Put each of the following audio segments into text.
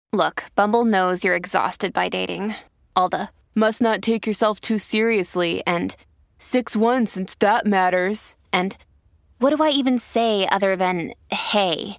Look, Bumble knows you're exhausted by dating. All the must not take yourself too seriously and 6'1" since that matters. And what do I even say other than hey?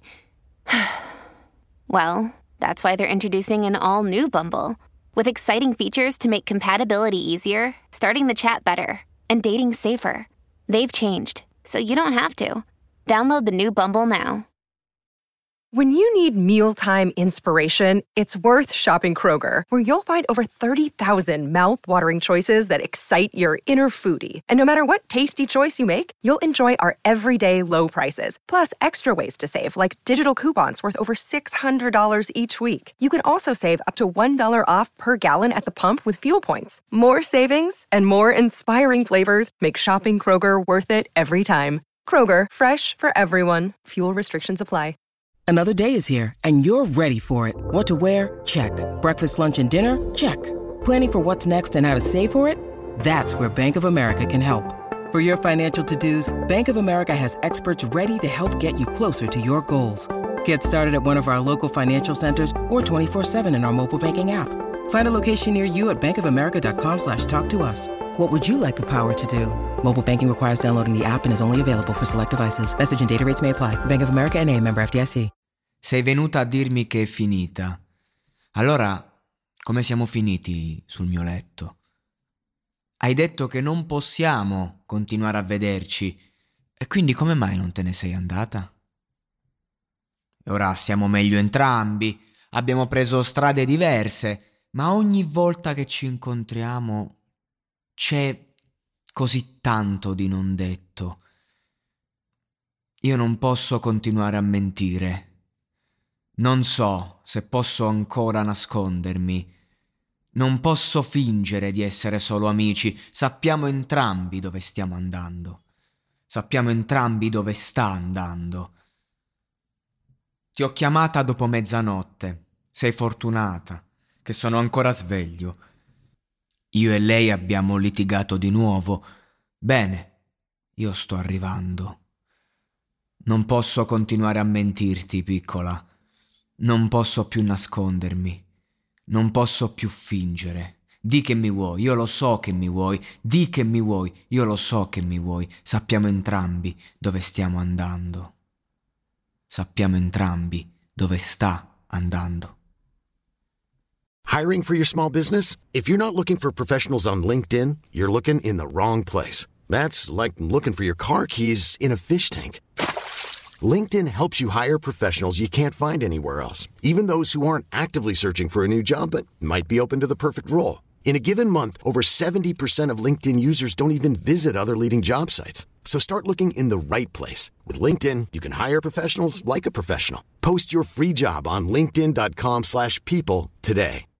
Well, that's why they're introducing an all-new Bumble with exciting features to make compatibility easier, starting the chat better, and dating safer. They've changed, so you don't have to. Download the new Bumble now. When you need mealtime inspiration, it's worth shopping Kroger, where you'll find over 30,000 mouth-watering choices that excite your inner foodie. And no matter what tasty choice you make, you'll enjoy our everyday low prices, plus extra ways to save, like digital coupons worth over $600 each week. You can also save up to $1 off per gallon at the pump with fuel points. More savings and more inspiring flavors make shopping Kroger worth it every time. Kroger, fresh for everyone. Fuel restrictions apply. Another day is here, and you're ready for it. What to wear? Check. Breakfast, lunch, and dinner? Check. Planning for what's next and how to save for it? That's where Bank of America can help. For your financial to-dos, Bank of America has experts ready to help get you closer to your goals. Get started at one of our local financial centers or 24/7 in our mobile banking app. Find a location near you at bankofamerica.com/talktous. What would you like the power to do? Mobile banking requires downloading the app and is only available for select devices. Message and data rates may apply. Bank of America N.A., member FDIC. Sei venuta a dirmi che è finita. Allora, come siamo finiti sul mio letto? Hai detto che non possiamo continuare a vederci. E quindi come mai non te ne sei andata? E ora stiamo meglio entrambi. Abbiamo preso strade diverse. Ma ogni volta che ci incontriamo c'è così tanto di non detto. Io non posso continuare a mentire. Non so se posso ancora nascondermi. Non posso fingere di essere solo amici. Sappiamo entrambi dove stiamo andando. Sappiamo entrambi dove sta andando. Ti ho chiamata dopo mezzanotte. Sei fortunata che sono ancora sveglio. Io e lei abbiamo litigato di nuovo. Bene, io sto arrivando. Non posso continuare a mentirti, piccola. Non posso più nascondermi. Non posso più fingere. Di che mi vuoi, io lo so che mi vuoi. Di che mi vuoi, io lo so che mi vuoi. Sappiamo entrambi dove stiamo andando. Sappiamo entrambi dove sta andando. Hiring for your small business? If you're not looking for professionals on LinkedIn, you're looking in the wrong place. That's like looking for your car keys in a fish tank. LinkedIn helps you hire professionals you can't find anywhere else, even those who aren't actively searching for a new job but might be open to the perfect role. In a given month, over 70% of LinkedIn users don't even visit other leading job sites. So start looking in the right place. With LinkedIn, you can hire professionals like a professional. Post your free job on linkedin.com/people today.